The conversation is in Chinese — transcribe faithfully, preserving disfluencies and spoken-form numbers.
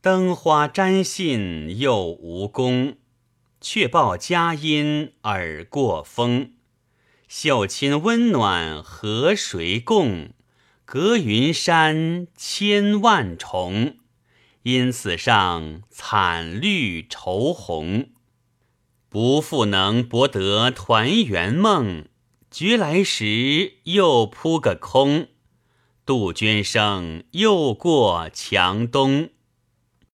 灯花沾信又无功，却报佳音耳过风。绣亲温暖和谁共？隔云山千万重。因此上惨绿愁红。不复能博得团圆梦，觉来时又扑个空。杜鹃声又过墙东。